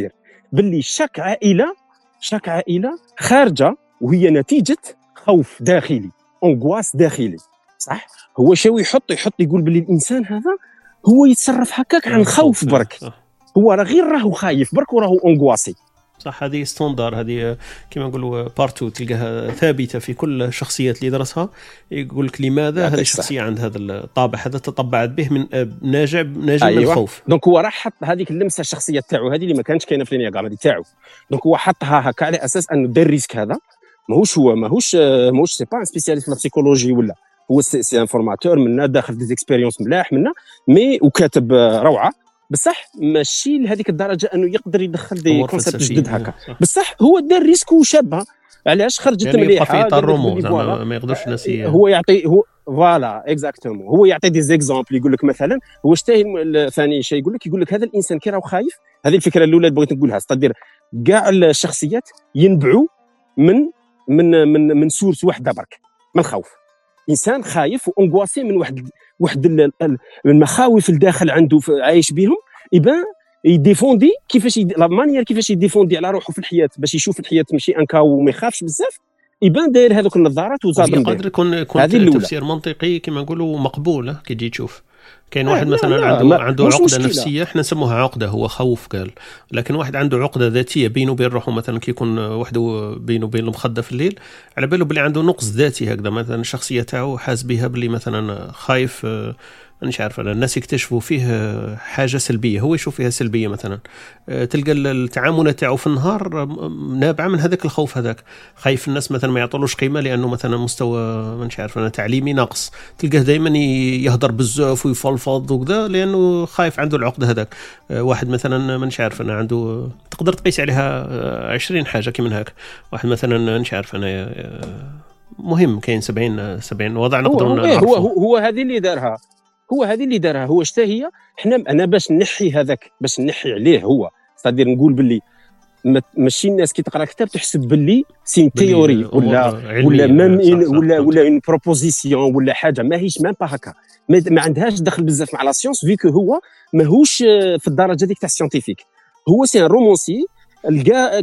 باللي شاك عائله شاك عائله خارجه وهي نتيجه خوف داخلي، انغواس داخلي، صح. هو شاو يحط يحط يقول باللي الانسان هذا هو يتصرف هكاك عن خوف برك، هو راه غير راهو خايف برك وراهو انغواسي. صح، هذه ستاندر، هذه كما نقولوا بارتو تلقاها ثابته في كل الشخصيات اللي درسها. يقول لك لماذا هذه الشخصيه عند هذا الطابع هذا تطبعت به من ناجع ناجع أيوة. من الخوف. دونك هو راح حط هذيك اللمسه الشخصيه تاعو هذه اللي ما كانتش كاينه في الانياغرام هذه تاعو. دونك هو حطها هكا على اساس انه دار الريسك هذا. ماهوش هو ماهوش ماهوش سي با ان سبيسياليست في البسيكولوجي ولا هو سي ان فورماتور منا داخل دي اكسبيريونس ملاح منا مي وكاتب روعه، بصح ماشي لهذيك الدرجه انه يقدر يدخل دي كونسيبت جدد هكا. بصح هو دار ريسك وشابها. علاش خرجت يعني مليحه يعني في الرموز ما يقدرش الناس هو يعطي هو فوالا اكزاكتومون هو يعطي دي زيكزامبل. يقول لك مثلا هو شتاهي ثاني شيء يقول لك يقول لك هذا الانسان كي راهو خايف. هذه الفكره الاولى اللي بغيت نقولها، استدير كاع الشخصيات ينبعوا من من من من سورس واحده برك، من الخوف. انسان خايف وانغواسي من واحد واحد المخاوف الداخل عنده عايش بهم، يبان يديفوندي كيفاش يد... لا مانيير كيفاش يديفوندي على روحه في الحياه باش يشوف الحياه ماشي انكا وما يخافش بزاف. يبان داير هذوك النظارات وزاد يقدر يكون يكون تفسير منطقي كما نقولوا مقبول كي تجي تشوف. كاين واحد لا مثلا لا عنده لا عنده عقده مشكلة. نفسيه احنا نسموها عقده، هو خوف قال. لكن واحد عنده عقده ذاتيه بينه وبين روحه، مثلا كي يكون وحده بينه وبين المخده في الليل على باله بلي عنده نقص ذاتي هكذا، مثلا الشخصيه تاعو حاس بها بلي مثلا خايف، مانيش عارف انا، الناس يكتشفوا فيه حاجه سلبيه هو يشوف فيها سلبيه مثلا. تلقى التعامل تاعو في النهار نابعه من هذاك الخوف هذاك. خايف الناس مثلا ما يعطولوش قيمه لانه مثلا مستوى مانيش عارف انا تعليمي ناقص، تلقاه دائما يهضر بزاف ويفلفض وكذا لانه خايف، عنده العقده هذاك. واحد مثلا مانيش عارف انا عنده تقدر تقيس عليها عشرين حاجه كي من هاك. واحد مثلا مانيش عارف انا مهم كاين سبعين سبعين وضع نقدر نعرفه. هو هو, هو هذه اللي دارها هو هذه اللي دارها هو شتا هي. احنا انا باش نحي هذاك باش نحي عليه هو صدير نقول باللي ماشي الناس كي تقرا كتاب تحسب باللي سين تيوري ولا ولا ميم ولا ولا اون بروبوزيسيون ولا حاجه ماهيش مام با هكا، ما عندهاش دخل بزاف مع لا سيونس فيكو هو ماهوش في الدرجه ديك تاع السيونتيفيك. هو سي ان رومونسي لقى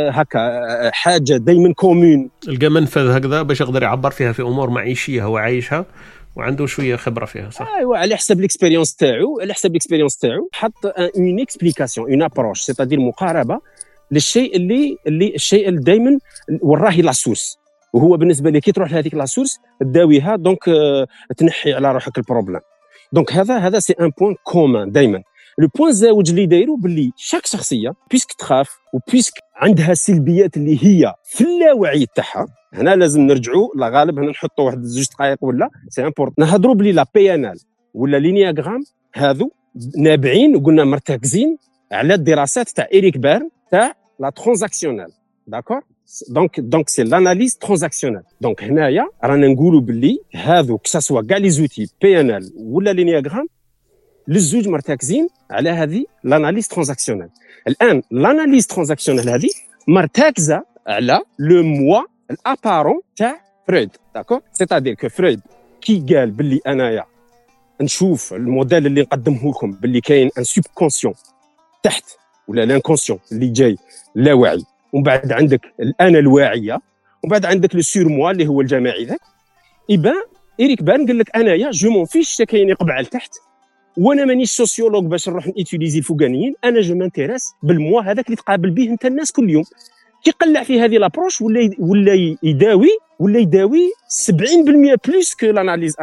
هكا حاجه دائما كومون، لقى منفذ هكذا باش يقدر يعبر فيها في امور معيشيه هو عايشها وعنده شويه خبره فيها. صح، ايوا على حسب الاكسبيريونس تاعو على حسب الاكسبيريونس تاعو حط اون اكسبليكاسيون اون ابروش سيتادير مقاربه للشيء اللي اللي الشيء اللي دائما وراه لا سورس. وهو بالنسبه لي كي تروح لهذيك لا سورس تداويها دونك تنحي على روحك البروبليم. دونك هذا هذا سي ان بوين كومون دائما. لو بوين زاوج اللي دايرو باللي شاك شخصيه بيسك تخاف وبيسك عندها سلبيات اللي هي في اللاوعي تاعها. هنا لازم نرجعوا لا غالب هنا نحطوا واحد زوج دقائق ولا سي امبورط نهضروا بلي لا بي ان ال ولا لينياغرام هذو نابعين وقلنا مرتكزين على الدراسات تاع إريك بيرن تاع لا ترانزاكسيونال. داكور دونك دونك سي لاناليز ترانزاكسيونال. دونك هنايا رانا نقولوا باللي هذو كساسوا كاع لي زوتي بي ان ال ولا لينياغرام للزوج مرتكزين على هذه لاناليز ترانزاكسيونال. الان لاناليز ترانزاكسيونال هذه مرتكزه على لو موا الابارون تاع فرويد. داكور سيتادير كو فرويد كي قال باللي انايا نشوف الموديل اللي نقدمه لكم باللي كاين ان سوب كونسيون تحت ولا لانكونسيون اللي جاي لا واعي، ومن بعد عندك الانا الواعيه، ومن بعد عندك لو سور موا اللي هو الجماعي ذاك. يبان إريك بان قال لك انايا جو مون فيش كاين يقبع لتحت وانا مانيش سوسيولوج باش نروح نيتيليزي الفوقانيين، انا جو مانتيريس بالموا هذاك اللي تقابل به انت الناس كل يوم. كيقلع في هذه لابروش ولا ولا يداوي ولا يداوي سبعين بالمئة بلوس كو لاناليز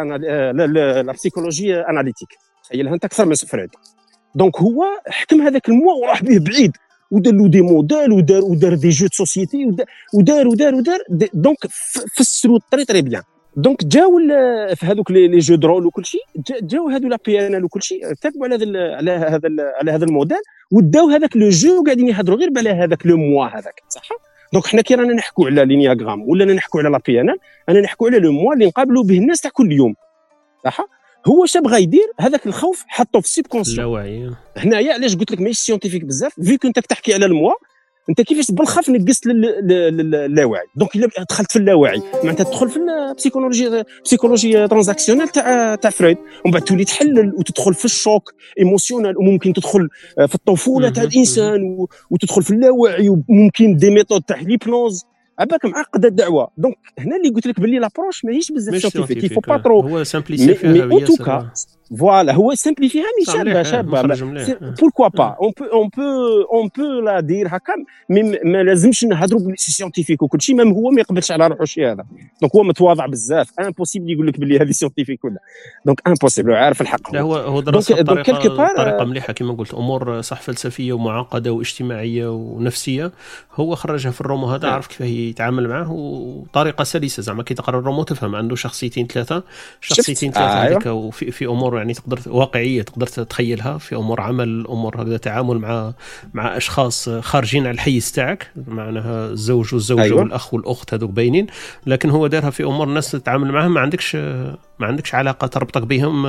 لا بسيكولوجي اناليتيك. تخيلها انت اكثر من فرويد. دونك هو حكم هذاك الموا وراح به بعيد ودار له دي موديل ودار ودار دي جو سوسيتي ودار ودار ودار دونك فسروا الطريق تري بيان. دونك جاو في هذوك لي جو درول وكل شيء جاو هذو لا بي ان ال وكل شيء تابعوا على هذا على هذا على هذا الموديل وداو هذاك لو جو وقاعدين يهضروا غير على هذاك لو موا هذاك. صح. دونك حنا كي رانا نحكوا على لينياغرام ولا نحكوا على لا بي ان ال انا نحكوا على لو موا اللي نقابلوا به الناس تاع كل يوم. صح. هو اش بغى يدير هذاك الخوف حطه في السيب كونسيون. اللاوعي. هنايا علاش قلت لك ماشي سيونتيفيك بزاف فيك انت تحكي على الموا انت كيفاش بالخف نقصت للاواعي. دونك الا دخلت في اللاواعي معناتها تدخل في البسيكولوجي بسيكولوجي ترانزاكسيونيل تاع تاع فرويد، ومن بعد تولي تحلل وتدخل في الشوك ايموسيونيل، وممكن تدخل في الطفوله تاع الانسان وتدخل في اللاواعي، وممكن دي ميثود تاع ليبنوز. عباك معقده الدعوه. دونك هنا اللي قلت لك باللي لابروش ماهيش بزاف سيانتيفيك، يفو با ترو هو سامبليسي فيها مي ان توكا فوالا هو سامبليفيها مي شابه شابه بوركوا با اون بو اون بو اون بو لا دير هكا، مي ما لازمش نهضروا بالسي سيانتيفيك وكل شيء، ميم هو ما يقبلش على روحه شي هذا. دونك هو متواضع بزاف، امبوسيبل يقول لك باللي هذه سيانتيفيك ولا، دونك امبوسيبل عارف الحق. لا هو هو درس بطريقه طريقه مليحه كما قلت، امور صح فلسفيه ومعقده واجتماعيه ونفسيه، هو خرجها في الرومو هذا، عرف كيف يتعامل معه وطريقه سلسه زعما كي تقرا الرومو تفهم عنده شخصيتين ثلاثه شخصيتين ثلاثه هذيك، وفي في امور يعني تقدر واقعيه تقدر تتخيلها، في امور عمل، امور هكذا تعامل مع مع اشخاص خارجين على الحيز تاعك، معناها الزوج والزوجه أيوة. والاخ والاخت هذوك باينين، لكن هو دارها في امور الناس تتعامل معها ما عندكش ما عندكش علاقه تربطك بهم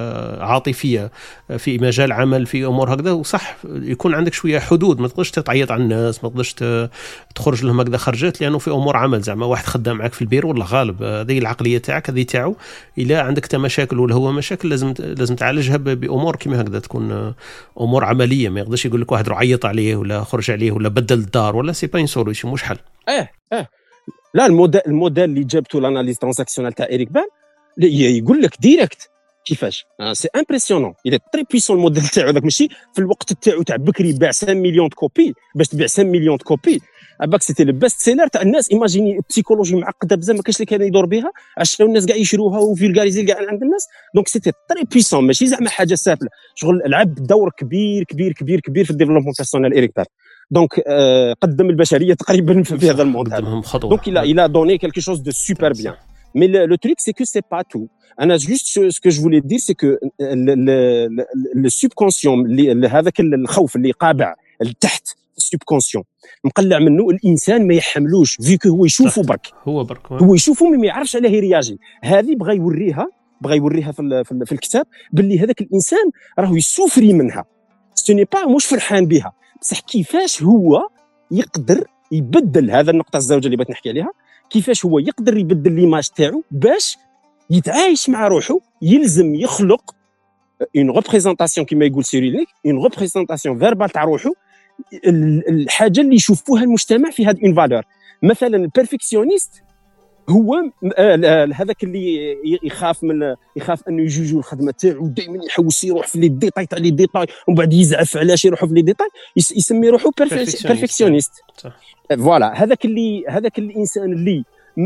عاطفيه في مجال عمل، في امور هكذا. وصح يكون عندك شويه حدود، ما تقدرش تعيط على الناس، ما تقدرش تخرج لهم هكذا خرجات، لانه في امور عمل زعما واحد خدام معك في البير ولا غالب، هذه العقليه تاعك هذه تاعو، الا عندك انت مشاكل ولا هو مشاكل لازم لازم تعالجها بامور كيما هكذا، تكون امور عمليه. ما يقدرش يقول لك واحد روح عيط عليه ولا خرج عليه ولا بدل الدار ولا سي با ان سوليوشن، مش حل. اه اه لا الموديل الموديل اللي جابته لاناليز ترانزاكسيونال تاع إريك بان يقول لك ديريكت كيفاش سي امبرسيونون، الى تري بويسون الموديل تاعو داك، ماشي في الوقت تاعو تاع بكري باع خمسة مليون كوبي، باش تبيع خمسة مليون كوبي باك سيتي لو بيست سيلر تاع الناس. ايماجيني بسيكولوجي معقده بزاف ما كاينش اللي كان يدور بها، عشان الناس كاع يشروها وفيلغاريزي كاع عند الناس. دونك سيتي تري بويسون، ماشي زعما حاجه سهله، شغل لعب دور كبير كبير كبير كبير في الديفلوبمون بيرسونيل إريك بان. دونك آه قدم البشريه تقريبا في هذا الموضوع. دونك il a il a donné quelque chose de super bien. Mais le, le truc c'est que c'est pas tout. انا juste ce que je voulais dire c'est que le le le subconscient اللي هذاك الخوف اللي قابع لتحت السبكونسيون مقلع منه الانسان ما يحملوش، فيكو هو يشوفه برك هو برك هو يشوفه ما يعرفش عليه يرياجي. هذه بغى يوريها بغى يوريها في في, في الكتاب باللي هذاك الانسان راهو يسوفري منها، سوني با مش فرحان بها، بصح كيفاش هو يقدر يبدل هذا النقطه الزوجه اللي بغيت نحكي عليها، كيفاش هو يقدر يبدل ليماج تاعو باش يتعايش مع روحه. يلزم يخلق اون ريبريزونطاسيون كما يقول سيريليك، اون ريبريزونطاسيون فيربال تاع روحه، الحاجه اللي يشوفوها المجتمع في هذه اون فالور. مثلا البيرفكسيونيست هو هذاك اللي يخاف من يخاف انه يجوجو الخدمه تاعو، دائما يحوس يروح في لي ديتاي تاع لي ديتاي، ومن بعد يزعف علاش يروحوا في لي ديتاي، يسمي روحه بيرفكسيونيست. فوالا هذاك اللي هذاك الانسان اللي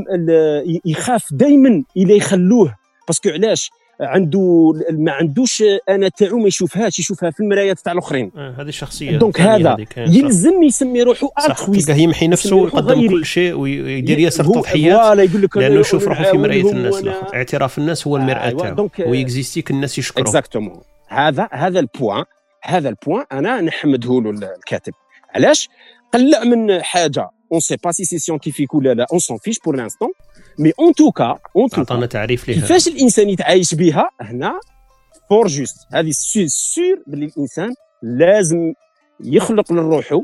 يخاف دائما الى يخلوه، باسكو علاش عنده ما عندوش انا تاعو ما يشوفهاش، يشوفها في المرايات تاع الاخرين. آه هذه الشخصيه. دونك هذا يلزم يسمي روحه الترويست، تلقاه يمحي نفسه ويقدم كل شيء ويدير ياسر تضحيات لانه يشوف روحه في مرايه الناس. اعتراف الناس هو المراه تاعو ويكزيستيك الناس يشكروه. اكزاكتومون هذا هذا البوان هذا البوان انا نحمده له الكاتب. علاش قلع من حاجه on sait pas si c'est scientifique ولا لا، on s'en fiche pour l'instant، mais en tout cas en tout عطانا تعريف ليها كيفاش الانسان يتعايش بها هنا فور جوست. هذه سور باللي الانسان لازم يخلق لروحه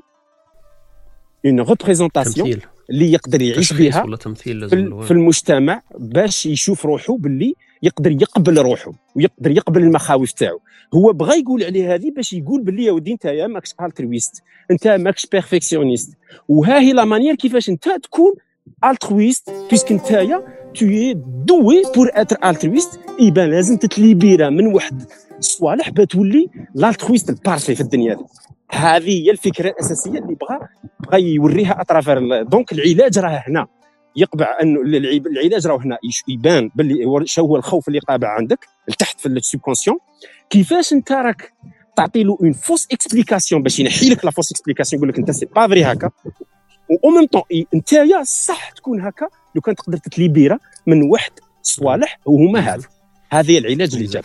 اون ريبريزونطاسيون اللي يقدر يعيش بها ولا تمثيل في, في المجتمع، باش يشوف روحه باللي يقدر يقبل روحه ويقدر يقبل المخاوف تاعو. هو بغى يقول عليه هذه باش يقول باللي يا ودي نتايا ماكش الترويست، انت ماكش بيرفكسيونيست، وها هي لا مانيير كيفاش انت تكون الترويست، بيسك نتايا توي دوي بور اتر الترويست. يبان لازم تتليبيرا من واحد الصوالح بتولي الالترويست البارفي في الدنيا دي. هذه هي الفكره الاساسيه اللي بغى بغى يوريها اترافير. دونك العلاج راه هنا، يقبع انه العلاج راه هنا يبان باللي شو هو الخوف اللي قابع عندك لتحت في السبكونسيون، كيفاش انت راك تعطي له اون فوس اكسبليكاسيون باش ينحي لك لا فوس اكسبليكاسيون، يقول لك انت سي با فري هكا، و ميم طون نتايا صح تكون هكا لو كان تقدر تتليبيرا من واحد صوالح وهما هذا. هذه العلاج اللي جاب.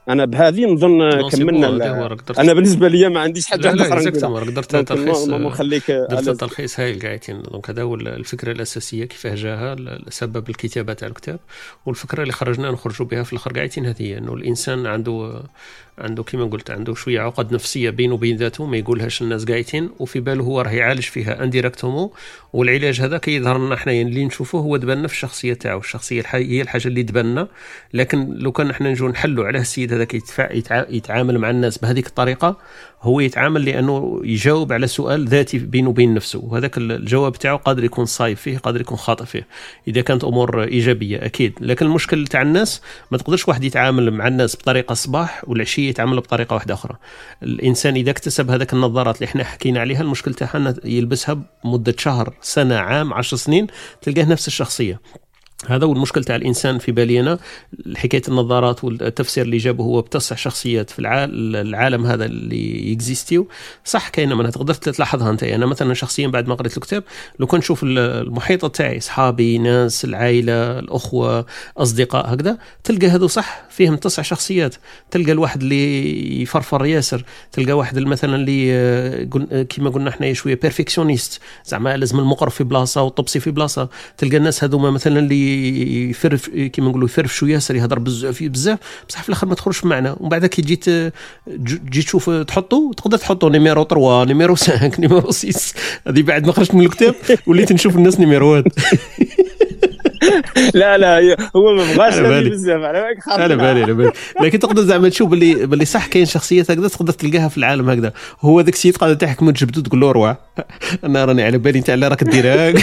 انا بهذه نظن كملنا. انا بالنسبه لي ما عنديش حاجه اخرى نقولها. قدرت تلخيص نخليك درت تلخيص هايل قاعدين. دونك هذا هو الفكره الاساسيه كيفاه جاها سبب الكتابه تاع الكتاب، والفكره اللي خرجنا نخرجوا بها في الاخر قاعدين هذه انه الانسان عنده عنده كما قلت عنده شويه عقد نفسيه بينه وبين ذاته ما يقولهاش الناس قاعدين، وفي باله هو راه يعالج فيها انديريكتومون، والعلاج هذا كيظهر لنا حنا اللي نشوفوه هو دبلنا في الشخصيه تاعو. الشخصيه هي الحاجه اللي دبلنا، لكن لو كان احنا نجو نحلوا على السيد هذا كيتفاع يتعامل مع الناس بهذيك الطريقه، هو يتعامل لانه يجاوب على سؤال ذاتي بينه وبين نفسه، وهذاك الجواب تاعو قادر يكون صايب فيه قادر يكون خاطئ فيه اذا كانت امور ايجابيه اكيد. لكن المشكل تاع الناس ما تقدرش واحد يتعامل مع الناس بطريقه صباح والعشيه يتعامل بطريقه واحده اخرى. الانسان اذا اكتسب هذاك النظارات اللي احنا حكينا عليها، المشكل تاعها يلبسها مده شهر سنه عام عشر سنين تلقاه نفس الشخصيه. هذا هو المشكل تاع الانسان في بالي انا. حكايه النظارات والتفسير اللي جابه هو بتسع شخصيات في العالم هذا اللي يكزيستيو صح. كاينه منها تقدر تلاحظها انت. انا مثلا شخصيا بعد ما قريت الكتاب لو كنت نشوف المحيط تاعي اصحابي ناس العائله الاخوه اصدقاء هكذا، تلقى هذو صح فيهم تسع شخصيات. تلقى الواحد اللي يفرفر ياسر، تلقى واحد مثلا اللي كما قلنا احنا شويه بيرفكسيونيست زعما لازم المقرب في بلاصه والطبسي في بلاصه. تلقى الناس هذوما مثلا اللي يفرف كيما نقولوا يفرف شويه ياسر يهضر بزاف بزاف بصح في الاخر ما تخرجش معنا. ومن بعد كي جيت تجي تشوف تحطوا تقدر تحطوا نيميرو ثلاثة نيميرو خمسة نيميرو ستة. هذه بعد ما خرجت من الكتاب وليت نشوف الناس نيميروات. لا لا هو ما بغاش بزاف على بالك خاطر على بالي على بالي. لكن تقدر زعما تشوف باللي باللي صح كاين شخصيات هكذا تقدر تلقاها في العالم هكذا. هو ذاك السيد قاعد تحكم تجبدو تقول له روح انا راني على بالي انت على راك ديرها.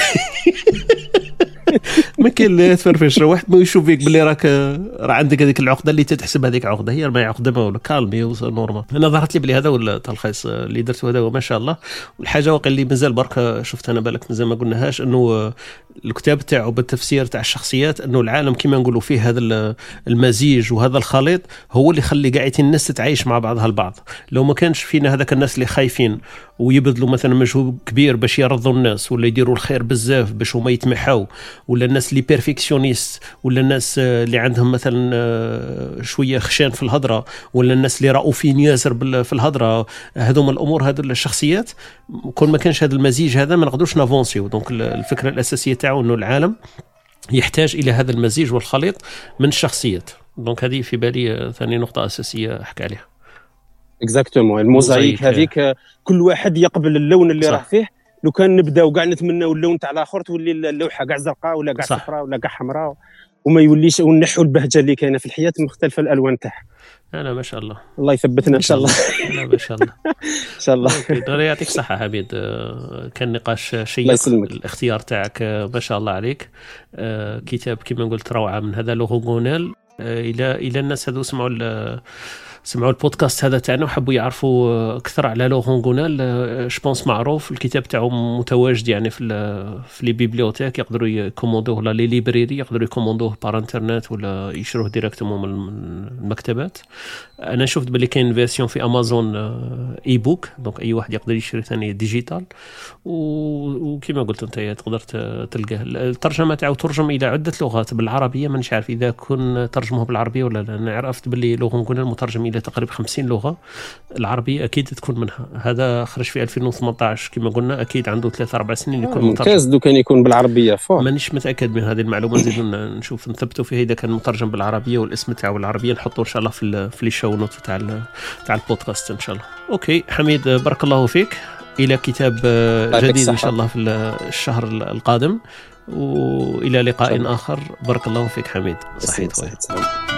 ما كاين لا تفرفش واحد ما يشوف فيك باللي راك راه عندك هذيك العقده اللي تتحسب هذيك عقده هي ما عقده ما ولا كالمي نورمال. انا ظهرت لي بلي هذا ولا التلخيص اللي درته هذا هو ما شاء الله. والحاجه واقع اللي مازال برك شفت انا بالك مازال ما قلناهاش انه الكتاب تاعو بالتفسير تاع الشخصيات انه العالم كما نقولوا فيه هذا المزيج وهذا الخليط هو اللي يخلي قاعدين الناس تتعايش مع بعضها البعض. لو ما كانش فينا هذاك الناس اللي خايفين ويبذلوا مثلا مجهود كبير باش يرضوا الناس ولا يديروا الخير بزاف باش هما يتمحوا، ولا الناس اللي بيرفكسيونيست، ولا الناس اللي عندهم مثلا شويه خشان في الهضره، ولا الناس اللي رؤوفين ياسر في الهضره، هذوما الامور هذو الشخصيات كل ما كانش هذا المزيج هذا ما نقدروش نافونسيو. دونك الفكره الاساسيه تاعو انه العالم يحتاج الى هذا المزيج والخليط من الشخصيات. دونك هذه في بالي ثاني نقطه اساسيه احكي عليها. اكزاكتومون الموزايك هذيك كل واحد يقبل اللون اللي راه فيه. لو كان نبداو كاع نتمناو اللون تاع الاخر تولي اللوحه كاع زرقاء ولا كاع صفراء ولا كاع حمراء وما يوليش ونحوا البهجه اللي كاينه في الحياه مختلفه الالوان تاعها. انا ما شاء الله الله يثبتنا ان شاء الله. لا ما شاء الله ان شاء الله. الله يعطيك الصحه حميد. كان نقاش شيق الاختيار تاعك ما شاء الله عليك. كتاب كما قلت روعه من هذا لوغونيل. الى الى الناس هذو سمعوا سمعوا البودكاست هذا تاعنا وحبوا يعرفوا اكثر على لورون غونيل. جوبونس معروف الكتاب تاعو متواجد يعني في في لي بيبليوتيك، يقدروا يكوموندوه ولا لي ليبريري يقدروا يكوموندوه بار انترنت ولا يشروه ديريكتومون من المكتبات. انا شفت باللي كاين فيرسيون في امازون اي بوك، دونك اي واحد يقدر يشري ثاني ديجيتال. وكما قلت انت تقدر تلقاه. الترجمه تاعو ترجم الى عده لغات بالعربيه، مانيش عارف اذا كن ترجموه بالعربيه ولا لا. انا عرفت باللي لورون غونيل مترجم الى تقريبا خمسين لغه، العربيه اكيد تكون منها. هذا خرج في ألفين وثمانية عشر كما قلنا، اكيد عنده ثلاثة أربع سنين يكون مترجم. ممتاز. دو كان يكون بالعربيه فوق مانيش متاكد من هذه المعلومه. نزيدوا نشوف نثبتوا فيه اذا كان مترجم بالعربيه والاسم تاعو بالعربيه نحطوه ان شاء الله في في لي شو نوت تاع تاع البودكاست ان شاء الله. اوكي حميد بارك الله فيك. الى كتاب جديد ان شاء الله في الشهر القادم، والى لقاء اخر. بارك الله فيك حميد. صحيح.